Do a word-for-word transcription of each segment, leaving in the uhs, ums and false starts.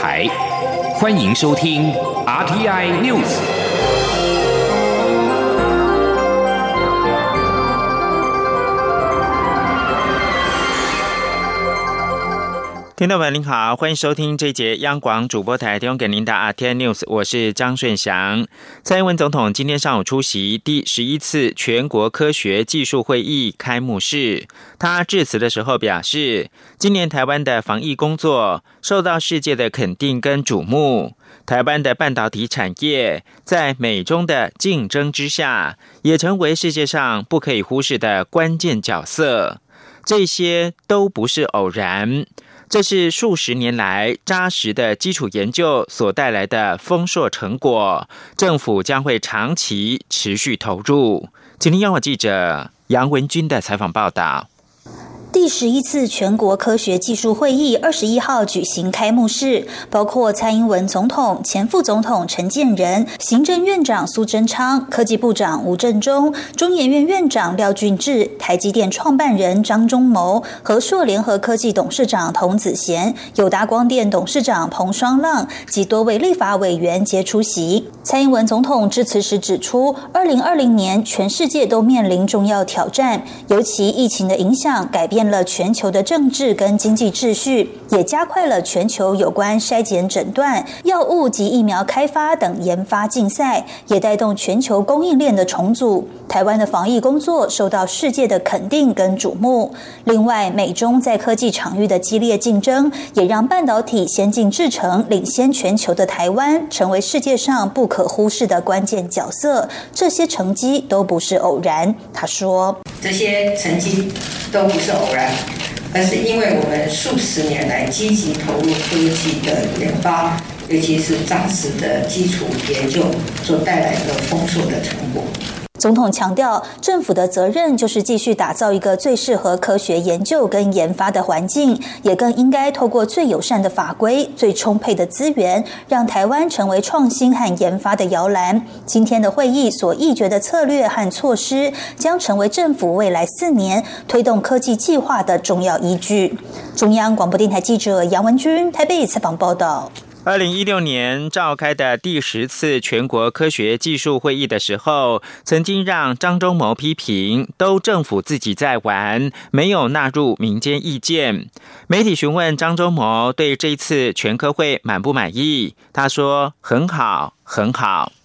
台，欢迎收听 R T I News。 听众朋友您好，欢迎收听这一节央广主播台提供给您的 R T I News， 我是张顺祥。蔡英文总统今天上午出席第十一次全国科学技术会议开幕式，他致辞的时候表示，今年台湾的防疫工作受到世界的肯定跟瞩目，台湾的半导体产业在美中的竞争之下，也成为世界上不可以忽视的关键角色，这些都不是偶然，这是数十年来扎实的基础研究所带来的丰硕成果，政府将会长期持续投入。请听央广记者杨文君的采访报道。 第十一次全国科学技术会议二十一号举行开幕式，包括蔡英文总统、前副总统陈建仁、行政院长苏贞昌、科技部长吴振中、中研院院长廖俊智、台积电创办人张忠谋、和硕联合科技董事长童子贤、友达光电董事长彭双浪及多位立法委员皆出席。蔡英文总统致辞时指出，二零二零年全世界都面临重要挑战，尤其疫情的影响改变了全球的政治跟经济秩序，也加快了全球有关筛检诊断、药物及疫苗开发等研发竞赛，也带动全球供应链的重组。台湾的防疫工作受到世界的肯定跟瞩目。另外，美中在科技场域的激烈竞争，也让半导体先进制程领先全球的台湾，成为世界上不可忽视的关键角色。这些成绩都不是偶然。他说， 这些成绩都不是偶然，而是因为我们数十年来积极投入科技的研发，尤其是扎实的基础研究所带来的丰硕的成果。 总统强调，政府的责任就是继续打造一个最适合科学研究跟研发的环境，也更应该透过最友善的法规、最充沛的资源，让台湾成为创新和研发的摇篮。今天的会议所议决的策略和措施，将成为政府未来四年推动科技计划的重要依据。中央广播电台记者杨文君台北采访报道。 二零一六年召开的第十次全国科学技术会议的时候，曾经让张忠谋批评都政府自己在玩，没有纳入民间意见。媒体询问张忠谋对这一次全科会满不满意，他说很好很好。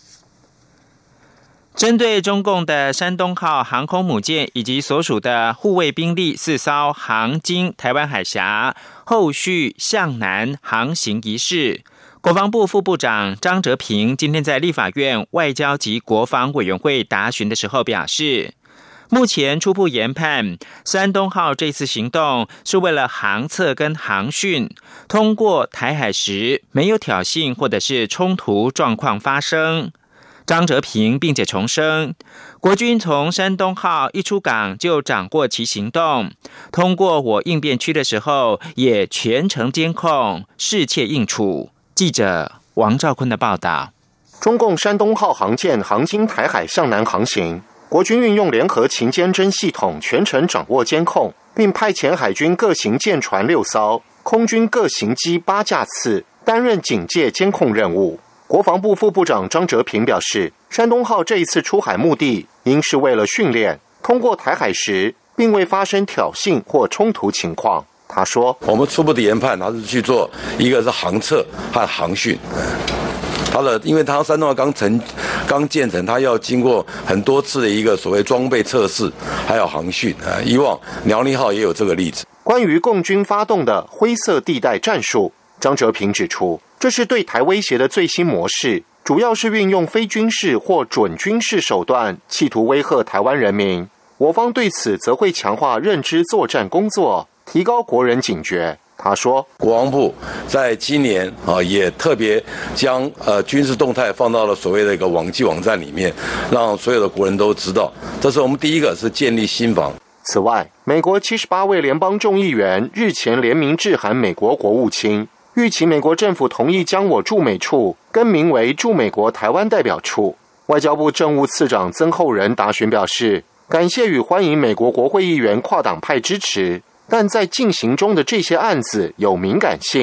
针对中共的山东号航空母舰以及所属的护卫兵力四艘航经台湾海峡，后续向南航行一事，国防部副部长张哲平今天在立法院外交及国防委员会答询的时候表示，目前初步研判，山东号这次行动是为了航测跟航训，通过台海时没有挑衅或者是冲突状况发生。张哲平并且重申，国军从山东号一出港就掌握其行动，通过我应变区的时候也全程监控，适切应处。记者王兆坤的报道。 中共山东号航舰航经台海向南航行，国军运用联合勤监侦系统全程掌握监控，并派遣海军各型舰船六艘，空军各型机八架次担任警戒监控任务。国防部副部长张哲平表示，山东号这一次出海目的应是为了训练，通过台海时并未发生挑衅或冲突情况。他说， 我们初步的研判，他是去做一个是航测和航训。它的，因为它山东号刚成刚建成，它要经过很多次的一个所谓装备测试，还有航训啊。以往辽宁号也有这个例子。 关于共军发动的灰色地带战术，张哲平指出，这是对台威胁的最新模式，主要是运用非军事或准军事手段，企图威吓台湾人民。我方对此则会强化认知作战工作，提高国人警觉。他说， 国防部在今年啊，也特别将呃军事动态放到了所谓的一个网际网站里面，让所有的国人都知道。这是我们第一个是建立心防。 此外，美国七十八位联邦众议员日前联名致函美国国务卿，预期美国政府同意将我驻美处更名为驻美国台湾代表处。外交部政务次长曾厚仁答询表示，感谢与欢迎美国国会议员跨党派支持，但在进行中的这些案子有敏感性，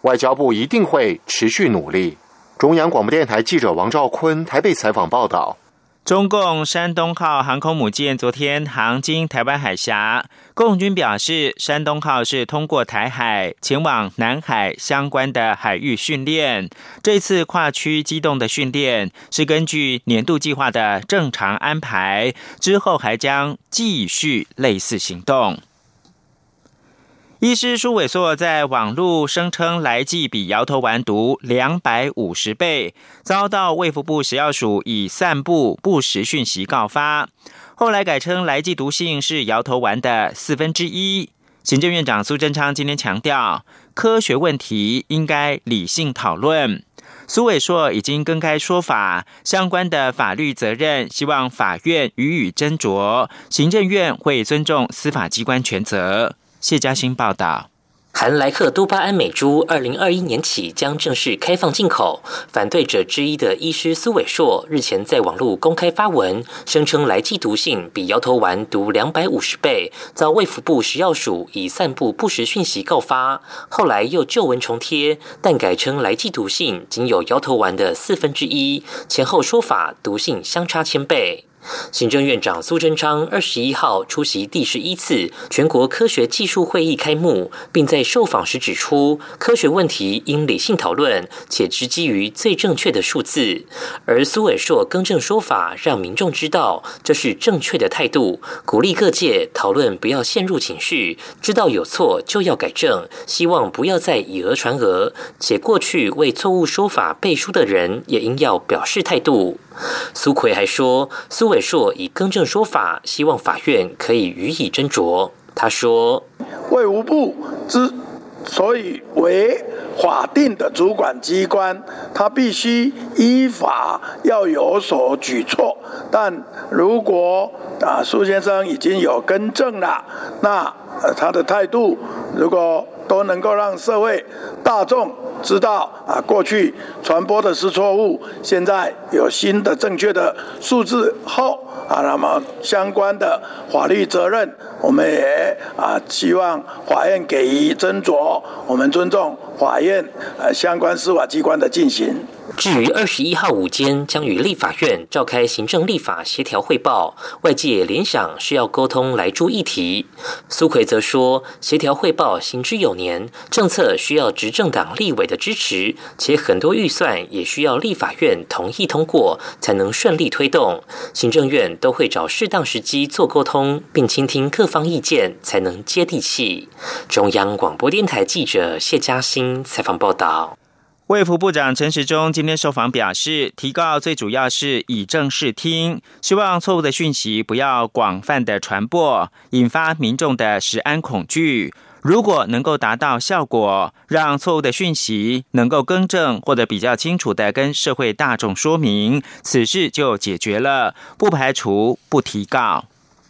外交部一定会持续努力。中央广播电台记者王兆坤台北采访报道。 中共山东号航空母舰昨天航经台湾海峡，共军表示，山东号是通过台海前往南海相关的海域训练。这次跨区机动的训练是根据年度计划的正常安排，之后还将继续类似行动。医师苏伟硕在网络声称来剂比摇头丸毒两百五十倍，遭到卫福部食药署以散布不实讯息告发，后来改称来剂毒性是摇头丸的四分之一。行政院长苏贞昌今天强调，科学问题应该理性讨论。苏伟硕已经更改说法，相关的法律责任希望法院予以斟酌，行政院会尊重司法机关权责。谢嘉欣报道。 含莱克多巴胺美猪二零二一年起将正式开放进口，反对者之一的医师苏伟硕日前在网络公开发文，声称来剂毒性比摇头丸毒两百五十倍，遭卫福部食药署以散布不实讯息告发，后来又旧文重贴，但改称来剂毒性仅有摇头丸的四分之一，前后说法毒性相差千倍。行政院长苏贞昌二十一号出席第十一次全国科学技术会议开幕，并在受访时指出，科学问题应理性讨论，且只基于最正确的数字。而苏伟硕更正说法，让民众知道这是正确的态度，鼓励各界讨论不要陷入情绪，知道有错就要改正，希望不要再以讹传讹，且过去为错误说法背书的人也应要表示态度。苏揆还说，苏伟硕以更正说法，希望法院可以予以斟酌。他说， 卫福部之所以为法定的主管机关，他必须依法要有所举措，但如果啊苏先生已经有更正了，那、呃、他的态度如果都能够让社会大众知道啊，过去传播的是错误，现在有新的正确的数字后啊，那么相关的法律责任，我们也啊希望法院给予斟酌，我们尊重法院呃相关司法机关的进行。 至于二十一号午间将与立法院召开行政立法协调汇报，外界联想是要沟通莱猪议题。苏揆则说，协调汇报行之有年，政策需要执政党立委的支持，且很多预算也需要立法院同意通过，才能顺利推动。行政院都会找适当时机做沟通，并倾听各方意见，才能接地气。中央广播电台记者谢嘉欣采访报道。 卫福部长陈时中今天受访表示，提告最主要是以正视听，希望错误的讯息不要广泛的传播，引发民众的食安恐惧。如果能够达到效果，让错误的讯息能够更正或者比较清楚的跟社会大众说明，此事就解决了，不排除不提告。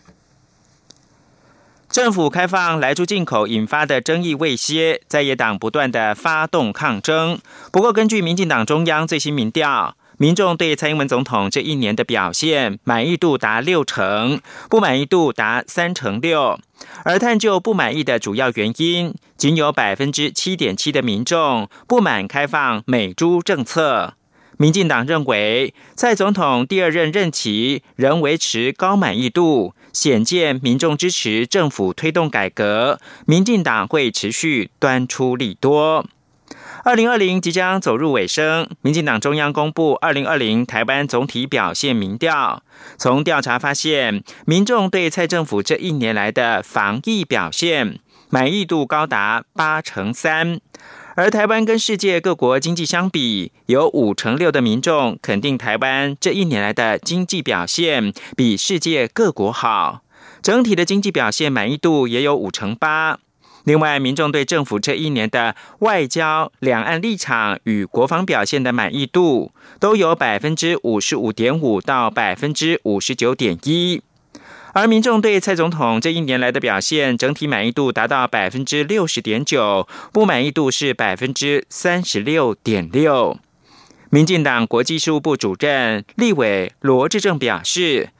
政府开放莱猪进口引发的争议未歇，在野党不断的发动抗争。不过，根据民进党中央最新民调，民众对蔡英文总统这一年的表现满意度达六成，不满意度达三成六。而探究不满意的主要原因，仅有百分之七点七的民众不满开放美猪政策。民进党认为，蔡总统第二任任期仍维持高满意度，显见民众支持政府推动改革，民进党会持续端出利多。二零二零即将走入尾声，民进党中央公布二零二零台湾总体表现民调，从调查发现，民众对蔡政府这一年来的防疫表现满意度高达八成三。而台湾跟世界各国经济相比，有五成六的民众肯定台湾这一年来的经济表现比世界各国好，整体的经济表现满意度也有五成八。另外，民众对政府这一年的外交、两岸立场与国防表现的满意度，都有百分之五十五点五到百分之五十九点一。而民众对蔡总统这一年来的表现，整体满意度达到百分之六十点九，不满意度是百分之三十六点六。民进党国际事务部主任立委罗致政表示，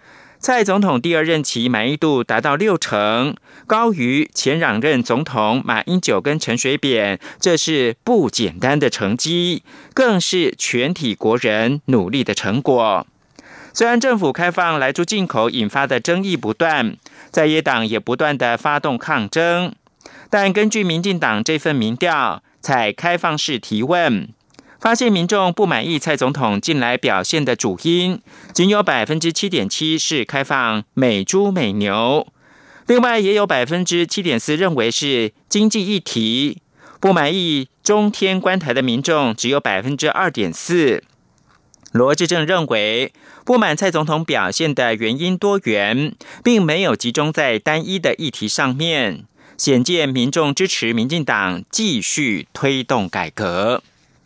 蔡总统第二任期满意度达到六成，高于前两任总统马英九跟陈水扁，这是不简单的成绩，更是全体国人努力的成果。虽然政府开放莱猪进口引发的争议不断，在野党也不断的发动抗争，但根据民进党这份民调，采开放式提问，发现民众不满意蔡总统近来表现的主因，仅有 百分之七点七 是开放美猪美牛，另外也有 百分之七点四 认为是经济议题，不满意中天关台的民众只有 百分之二点四。罗致政认为，不满蔡总统表现的原因多元，并没有集中在单一的议题上面，显见民众支持民进党继续推动改革。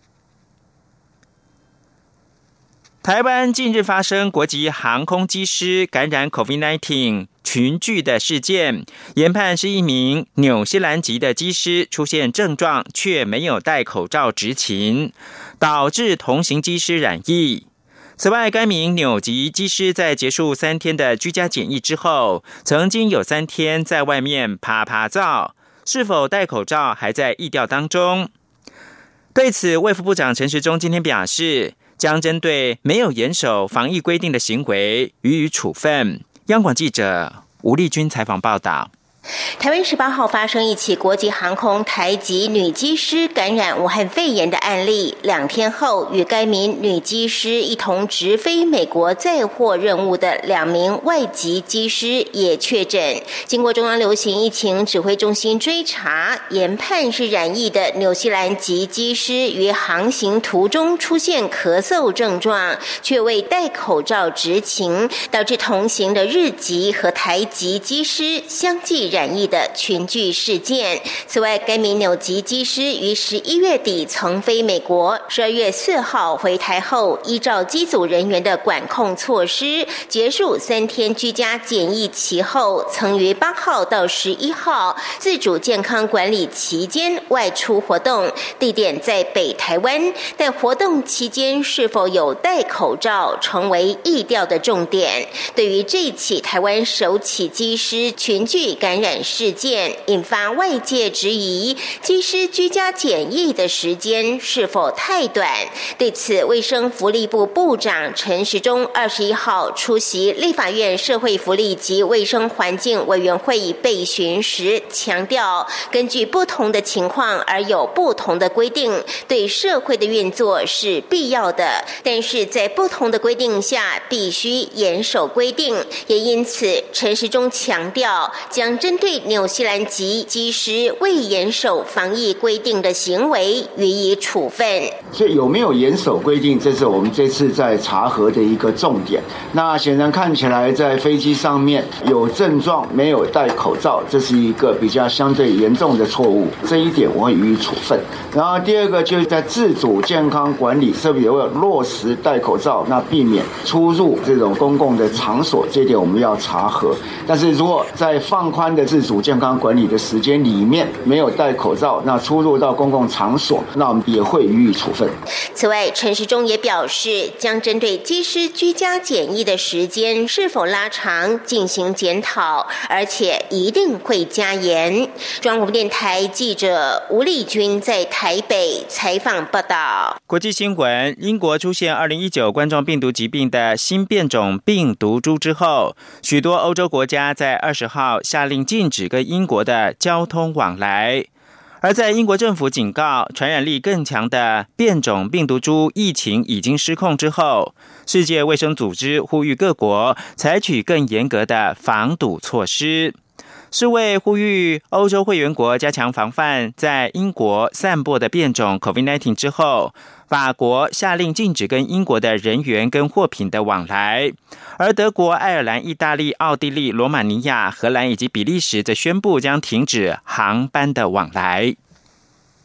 台湾近日发生国际航空机师感染 COVID 十九 群聚的事件，研判是一名纽西兰籍的机师出现症状却没有戴口罩执勤，导致同行机师染疫。此外，该名纽籍机师在结束三天的居家检疫之后，曾经有三天在外面趴趴灶，是否戴口罩还在疫调当中。对此，卫福部长陈时中今天表示，将针对没有严守防疫规定的行为予以处分。央广记者吴丽君采访报道。 台湾十八号发生一起国际航空台籍女机师感染武汉肺炎的案例，两天后与该名女机师一同直飞美国载货任务的两名外籍机师也确诊。经过中央流行疫情指挥中心追查，研判是染疫的纽西兰籍机师于航行途中出现咳嗽症状，却未戴口罩执勤，导致同行的日籍和台籍机师相继染疫的群聚事件。此外，该名纽籍机师于十一月底曾飞美国，十二月四号回台后，依照机组人员的管控措施，结束三天居家检疫期后，曾于八号到十一号自主健康管理期间外出活动，地点在北台湾，但活动期间是否有戴口罩成为疫调的重点。对于这起台湾首起机师群聚感染事件，引发外界质疑机师居家检疫的时间是否太短。对此，卫生福利部部长陈时中二十一号出席立法院社会福利及卫生环境委员会备询时强调，根据不同的情况而有不同的规定，对社会的运作是必要的，但是在不同的规定下必须严守规定。也因此，陈时中强调将针对纽西兰籍机师未严守防疫规定的行为予以处分。 所以有没有严守规定，这是我们这次在查核的一个重点。那显然看起来在飞机上面有症状没有戴口罩，这是一个比较相对严重的错误，这一点我会予以处分。然后第二个就是在自主健康管理是不是有落实戴口罩，那避免出入这种公共的场所，这一点我们要查核。但是如果在放宽的自主健康管理的时间里面没有戴口罩，那出入到公共场所，那我们也会予以处分。 此外，陈时中也表示，将针对机师居家检疫的时间是否拉长进行检讨，而且一定会加严。中央广播电台记者吴丽君在台北采访报道。 国际新闻：英国出现二零一九冠状病毒疾病的新变种病毒株之后，许多欧洲国家在二十号下令禁止跟英国的交通往来。而在英国政府警告传染力更强的变种病毒株疫情已经失控之后，世界卫生组织呼吁各国采取更严格的防堵措施。世卫呼吁欧洲会员国加强防范在英国散播的变种 COVID 十九 之后，法国下令禁止跟英国的人员跟货品的往来，而德国、爱尔兰、意大利、奥地利、罗马尼亚、荷兰以及比利时则宣布将停止航班的往来。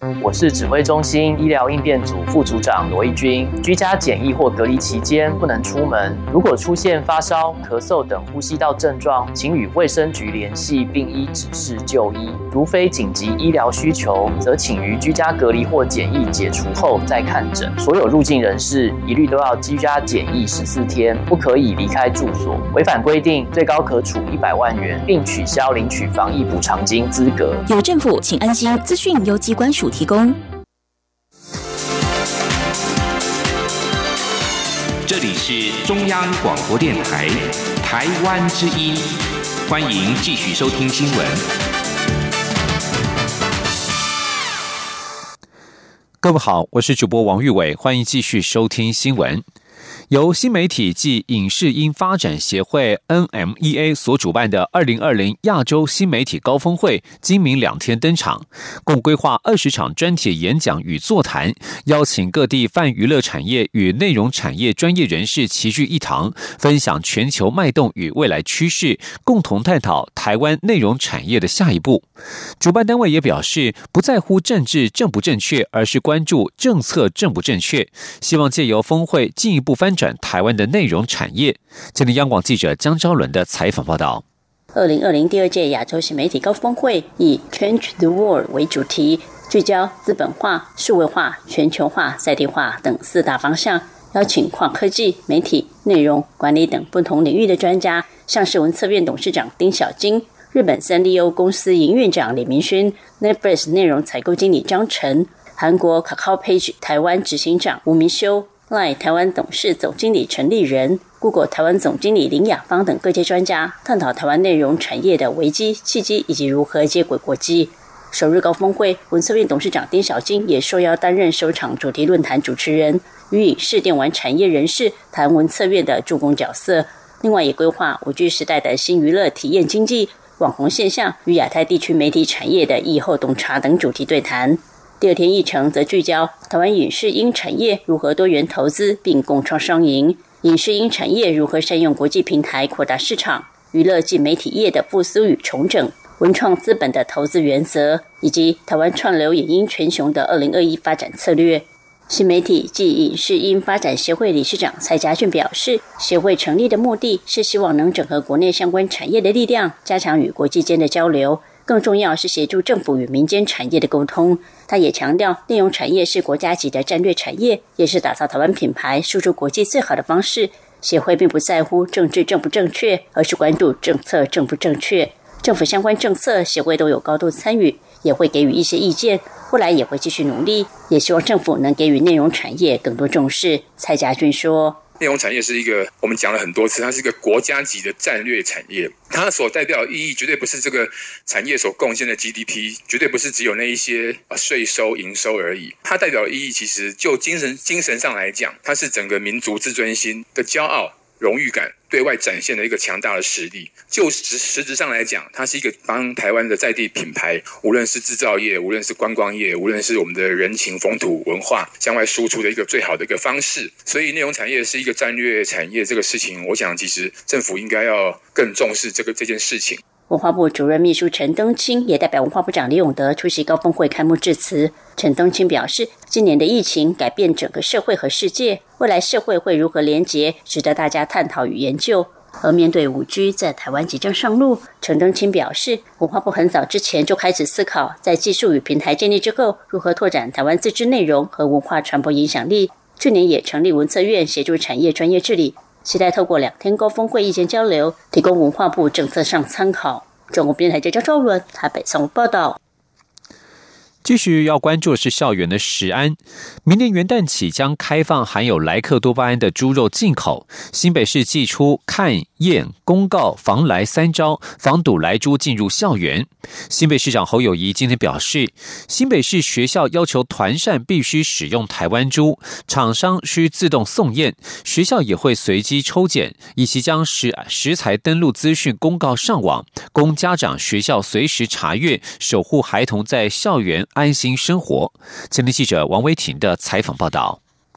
我是指挥中心医疗应变组副组长罗义军。居家检疫或隔离期间不能出门，如果出现发烧、咳嗽等呼吸道症状，请与卫生局联系并依指示就医。如非紧急医疗需求，则请于居家隔离或检疫解除后再看诊。所有入境人士一律都要居家检疫十四天，不可以离开住所。违反规定，最高可处一百万元，并取消领取防疫补偿金资格。 有政府，请安心。资讯由机关署提供。 这里是中央广播电台台湾之音，欢迎继续收听新闻。 各位好，我是主播王玉伟，欢迎继续收听新闻。由新媒体暨影视音发展协会 N M E A 所主办的二零二零亚洲新媒体高峰会今明两天登场，共规划二十场专题演讲与座谈，邀请各地泛娱乐产业与内容产业专业人士齐聚一堂，分享全球脉动与未来趋势，共同探讨台湾内容产业的下一步。主办单位也表示，不在乎政治正不正确，而是关注政策正不正确，希望借由峰会进一步翻转台湾的内容产业。今天央广记者江昭伦的采访报道。 二零二零第二届亚洲新媒体高峰会以 Change the World 为主题，聚焦资本化、数位化、全球化、在地化等四大方向，邀请跨科技、媒体、内容管理等不同领域的专家，像是文策院董事长丁小金、日本三丽鸥公司营运长李明勋、Netflix 内容采购经理张晨、韩国 Kakao Page 台湾执行长吴明修、Line 台湾董事总经理陈立仁、Google 台湾总经理林雅芳等各界专家，探讨台湾内容产业的危机、契机以及如何接轨国际。首日高峰会，文策院董事长丁小金也受邀担任首场主题论坛主持人，与影视电玩产业人士谈文策院的助攻角色。另外也规划五 G 时代的新娱乐体验经济、网红现象与亚太地区媒体产业的疫后洞察等主题对谈。第二天议程则聚焦台湾影视音产业如何多元投资并共创双赢，影视音产业如何善用国际平台扩大市场，娱乐及媒体业的复苏与重整，文创资本的投资原则，以及台湾串流影音全球的二零二一发展策略。新媒体暨影视音发展协会理事长蔡家俊表示，协会成立的目的是希望能整合国内相关产业的力量，加强与国际间的交流，更重要是协助政府与民间产业的沟通。他也强调，内容产业是国家级的战略产业，也是打造台湾品牌输出国际最好的方式。协会并不在乎政治正不正确，而是关注政策正不正确。政府相关政策，协会都有高度参与，也会给予一些意见，未来也会继续努力，也希望政府能给予内容产业更多重视。蔡家俊说， 内容产业是一个我们讲了很多次，它是一个国家级的战略产业，它所代表的意义绝对不是这个产业所贡献的 G D P， 绝对不是只有那一些税收营收而已，它代表的意义其实就精神精神上来讲，它是整个民族自尊心的骄傲、荣誉感对外展现的一个强大的实力。就实实质上来讲，它是一个帮台湾的在地品牌，无论是制造业，无论是观光业，无论是我们的人情风土文化向外输出的一个最好的一个方式。所以内容产业是一个战略产业，这个事情我想其实政府应该要更重视这个这件事情。 文化部主任秘书陈登清也代表文化部长李永德出席高峰会开幕致辞。陈登清表示，今年的疫情改变整个社会和世界，未来社会会如何连结，值得大家探讨与研究。而面对 五 G 在台湾即将上路，陈登清表示，文化部很早之前就开始思考，在技术与平台建立之后，如何拓展台湾自制内容和文化传播影响力。去年也成立文策院协助产业专业治理，期待透过两天高峰会意见交流，提供文化部政策上参考。中国电台记者赵伦台北综合报道。 继续要关注的是校园的食安，明年元旦起将开放含有莱克多巴胺的猪肉进口。新北市祭出看、验、公告防莱三招，防堵莱猪进入校园。新北市长侯友宜今天表示，新北市学校要求团膳必须使用台湾猪，厂商需自动送验，学校也会随机抽检，以及将食食材登录资讯公告上网，供家长、学校随时查阅，守护孩童在校园安心生活。前天记者王威婷的采访报道。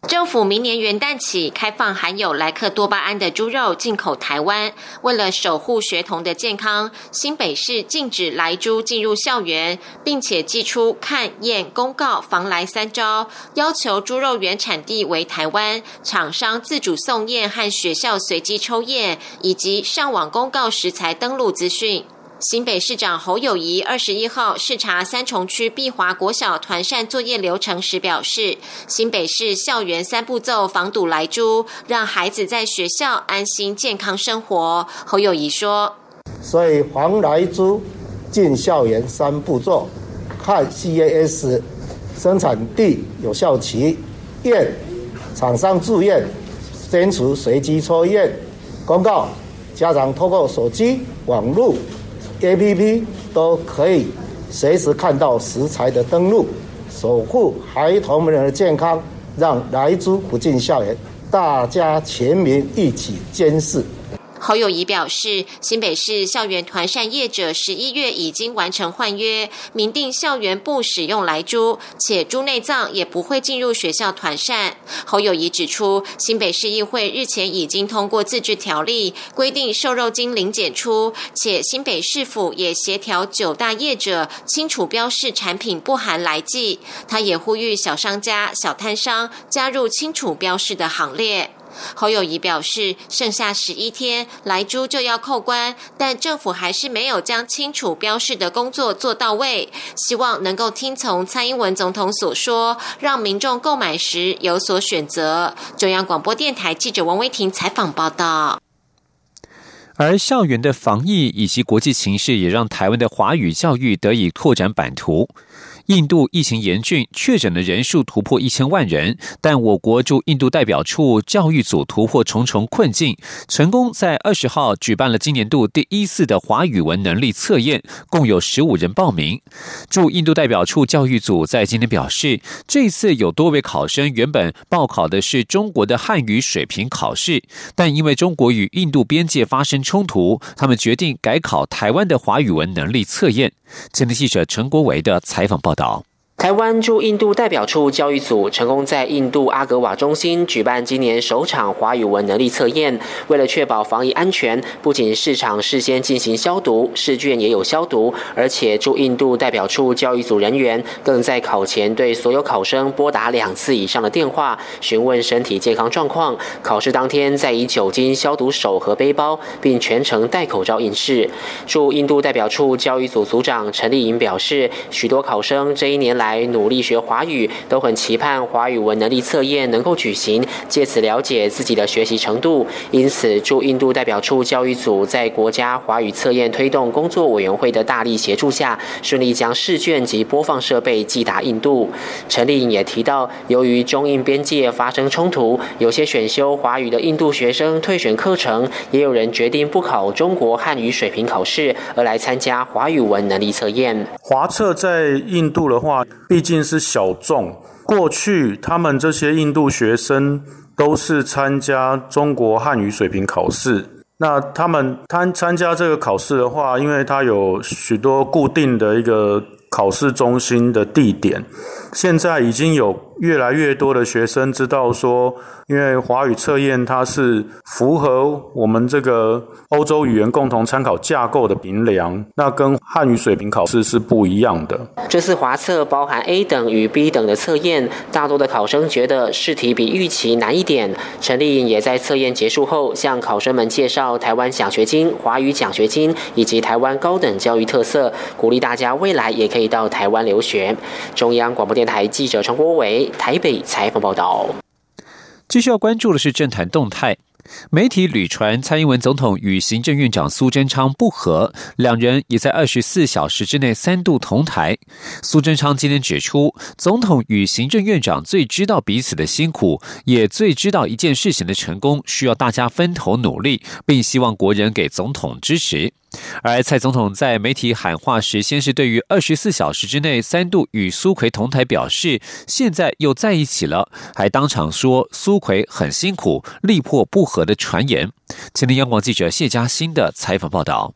政府明年元旦起开放含有莱克多巴胺的猪肉进口台湾。为了守护学童的健康，新北市禁止莱猪进入校园，并且祭出看、验、公告防莱三招，要求猪肉原产地为台湾，厂商自主送验和学校随机抽验，以及上网公告食材登录资讯。新北市长侯友宜二十一号视察三重区碧华国小团膳作业流程时表示，新北市校园三步骤防堵莱猪，让孩子在学校安心健康生活。侯友宜说， 所以防莱猪进校园三步骤，看 C A S 生产地有效期，验厂商自验，坚持随机抽验，公告家长透过手机、网络A P P 都可以随时看到食材的登录，守护孩童们的健康，让莱猪不进校园，大家全民一起监视。 侯友宜表示，新北市校园团膳业者十一月已经完成换约，明定校园不使用莱猪，且猪内脏也不会进入学校团膳。侯友宜指出，新北市议会日前已经通过自治条例，规定瘦肉精零检出，且新北市府也协调九大业者清楚标示产品不含莱剂。他也呼吁小商家、小摊商加入清楚标示的行列。侯友宜表示，剩下十一天，莱猪就要扣关，但政府还是没有将清楚标示的工作做到位，希望能够听从蔡英文总统所说，让民众购买时有所选择。中央广播电台记者王威婷采访报道。 而校园的防疫以及国际情势也让台湾的华语教育得以拓展版图。印度疫情严峻，确诊的人数突破一千万人，但我国驻印度代表处教育组突破重重困境，成功在二十号举办了今年度第一次的华语文能力测验，共有十五人报名。驻印度代表处教育组在今天表示，这次有多位考生原本报考的是中国的汉语水平考试，但因为中国与印度边界发生冲突，他们决定改考台湾的华语文能力测验。前天记者陈国维的采访报道。 台湾驻印度代表处教育组成功在印度阿格瓦中心举办今年首场华语文能力测验。为了确保防疫安全，不仅市场事先进行消毒，试卷也有消毒，而且驻印度代表处教育组人员更在考前对所有考生拨打两次以上的电话，询问身体健康状况。考试当天再以酒精消毒手和背包，并全程戴口罩应试。驻印度代表处教育组组长陈丽颖表示，许多考生这一年来来努力学华语，都很期盼华语文能力测验能够举行，借此了解自己的学习程度。因此，驻印度代表处教育组在国家华语测验推动工作委员会的大力协助下，顺利将试卷及播放设备寄达印度。陈丽颖也提到，由于中印边界发生冲突，有些选修华语的印度学生退选课程，也有人决定不考中国汉语水平考试，而来参加华语文能力测验。 华测在印度的话，毕竟是小众，过去他们这些印度学生都是参加中国汉语水平考试。那他们参参加这个考试的话，因为它有许多固定的一个考试中心的地点，现在已经有越来越多的学生知道说，因为华语测验它是符合我们这个欧洲语言共同参考架构的评量，那跟汉语水平考试是不一样的。 这次华测包含 A 等与 B 等的测验，大多的考生觉得试题比预期难一点。陈丽颖也在测验结束后向考生们介绍台湾奖学金、华语奖学金以及台湾高等教育特色，鼓励大家未来也可以到台湾留学。中央广播电台记者陈国伟台北采访报道。 继续要关注的是政坛动态。媒体屡传蔡英文总统与行政院长苏贞昌不和，两人也在二十四小时之内三度同台。苏贞昌今天指出，总统与行政院长最知道彼此的辛苦，也最知道一件事情的成功需要大家分头努力，并希望国人给总统支持。而蔡总统在媒体喊话时，先是对于二十四小时之内三度与苏揆同台表示，现在又在一起了，还当场说苏揆很辛苦，力破不和的传言。前天央广记者谢嘉欣的采访报道。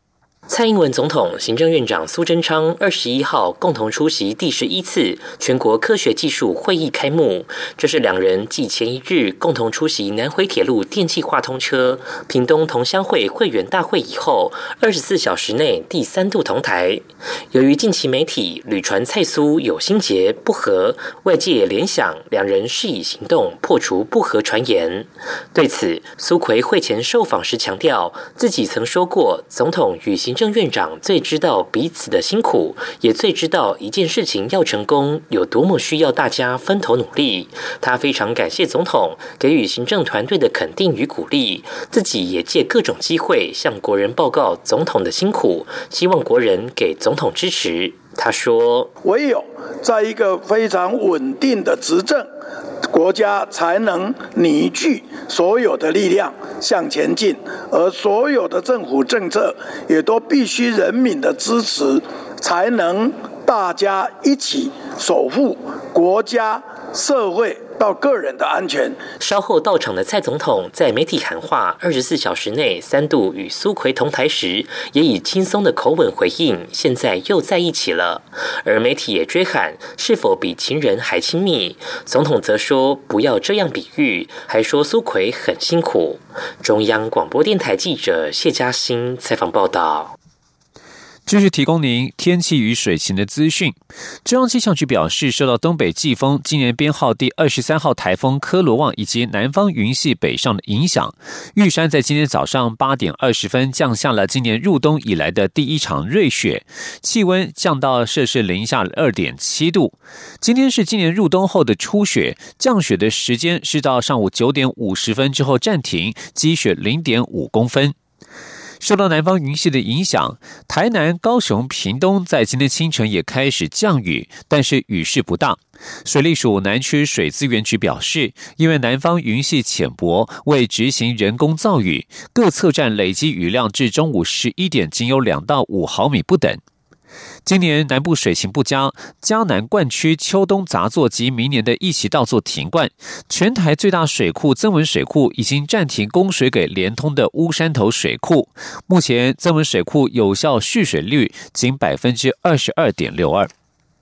蔡英文总统、行政院长苏贞昌二十一号共同出席第十一次全国科学技术会议开幕，这是两人继前一日共同出席南回铁路电气化通车、屏东同乡会会员大会以后，二十四小时内第三度同台。由于近期媒体屡传蔡苏有心结不和，外界也联想两人是以行动破除不和传言。对此，苏揆会前受访时强调，自己曾说过，总统与行政院长最知道彼此的辛苦，也最知道一件事情要成功有多么需要大家分头努力。他非常感谢总统给予行政团队的肯定与鼓励，自己也借各种机会向国人报告总统的辛苦，希望国人给总统支持。他说， 唯有在一个非常稳定的执政，国家才能凝聚所有的力量向前进，而所有的政府政策也都必须人民的支持，才能大家一起守护国家、社会到个人的安全。 稍后到场的蔡总统在媒体喊话二十四小时内三度与苏揆同台时，也以轻松的口吻回应，现在又在一起了。而媒体也追喊是否比情人还亲密，总统则说不要这样比喻，还说苏揆很辛苦。中央广播电台记者谢嘉欣采访报道。 继续提供您天气与水情的资讯。中央气象局表示，受到东北季风今年编号第二十三号台风科罗旺以及南方云系北上的影响，玉山在今天早上八点二十分降下了今年入冬以来的第一场瑞雪，气温降到摄氏零下二点七度。今天是今年入冬后的初雪，降雪的时间是到上午九点五十分之后暂停，积雪零点五公分。受到南方云系的影响，台南、高雄、屏东在今天清晨也开始降雨，但是雨势不大。水利署南区水资源局表示，因为南方云系浅薄，为执行人工造雨，各测站累积雨量至中午十一点仅有两到五毫米不等。今年南部水情不佳，嘉南灌区秋冬杂作及明年的一期稻作停灌，全台最大水库曾文水库已经暂停供水给连通的乌山头水库，目前曾文水库有效蓄水率仅 百分之二十二点六二。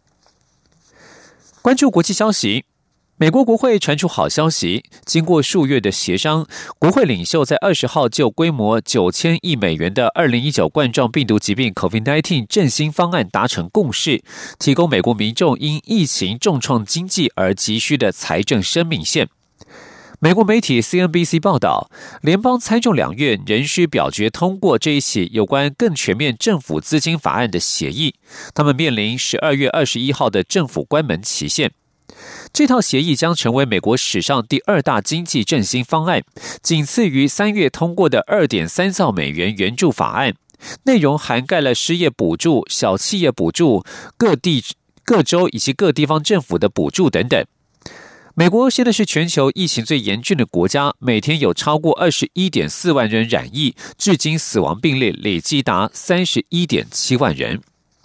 关注国际消息，美国国会传出好消息，经过数月的协商，国会领袖在二十号就规模九千亿美元的二零一九冠状病毒疾病 COVID 十九 振兴方案达成共识，提供美国民众因疫情重创经济而急需的财政生命线。美国媒体 C N B C 报道，联邦参众两院仍需表决通过这一起有关更全面政府资金法案的协议，他们面临十二月二十一号的政府关门期限。这套协议将成为美国史上第二大经济振兴方案，仅次于三月通过的 二点三兆美元援助法案，内容涵盖了失业补助、小企业补助、各地各州以及各地方政府的补助等等。美国现在是全球疫情最严峻的国家，每天有超过 二十一点四万人染疫，至今死亡病例累计达 三十一点七万人。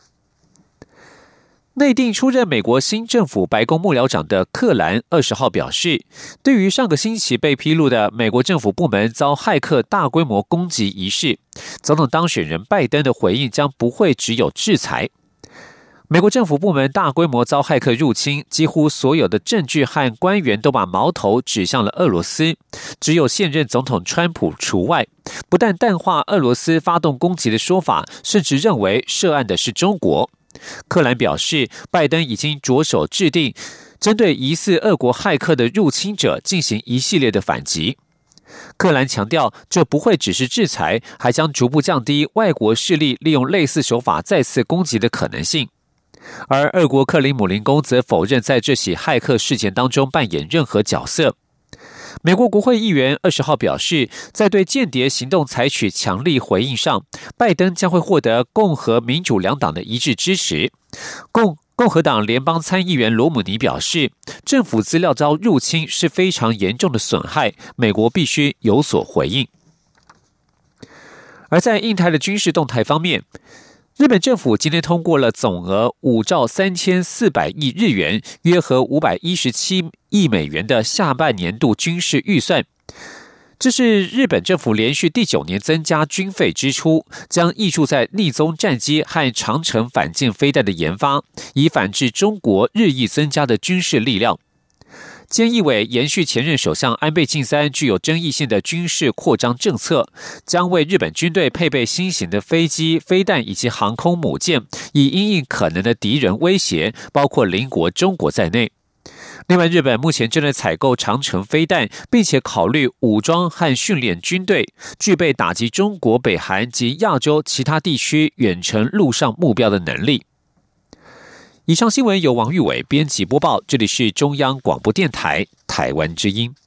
内定出任美国新政府白宫幕僚长的克兰二十号表示，对于上个星期被披露的美国政府部门遭骇客大规模攻击一事，总统当选人拜登的回应将不会只有制裁。美国政府部门大规模遭骇客入侵，几乎所有的证据和官员都把矛头指向了俄罗斯，只有现任总统川普除外，不但淡化俄罗斯发动攻击的说法，甚至认为涉案的是中国。克兰表示，拜登已经着手制定针对疑似俄国骇客的入侵者进行一系列的反击。克兰强调，这不会只是制裁，还将逐步降低外国势力利用类似手法再次攻击的可能性。而俄国克里姆林宫则否认在这起骇客事件当中扮演任何角色。美国国会议员二十号表示，在对间谍行动采取强力回应上，拜登将会获得共和民主两党的一致支持。共共和党联邦参议员罗姆尼表示，政府资料遭入侵是非常严重的损害，美国必须有所回应。而在印太的军事动态方面，日本政府今天通过了总额五兆三千四百亿日元，约合五百一十七亿美元的下半年度军事预算。 这是日本政府连续第九年增加军费支出，将挹注在逆踪战机和长程反舰飞弹的研发，以反制中国日益增加的军事力量。菅义伟延续前任首相安倍晋三具有争议性的军事扩张政策，将为日本军队配备新型的飞机、飞弹以及航空母舰，以因应可能的敌人威胁，包括邻国中国在内。另外，日本目前正在采购长程飞弹，并且考虑武装和训练军队，具备打击中国、北韩及亚洲其他地区远程陆上目标的能力。以上新闻由王玉伟编辑播报，这里是中央广播电台台湾之音。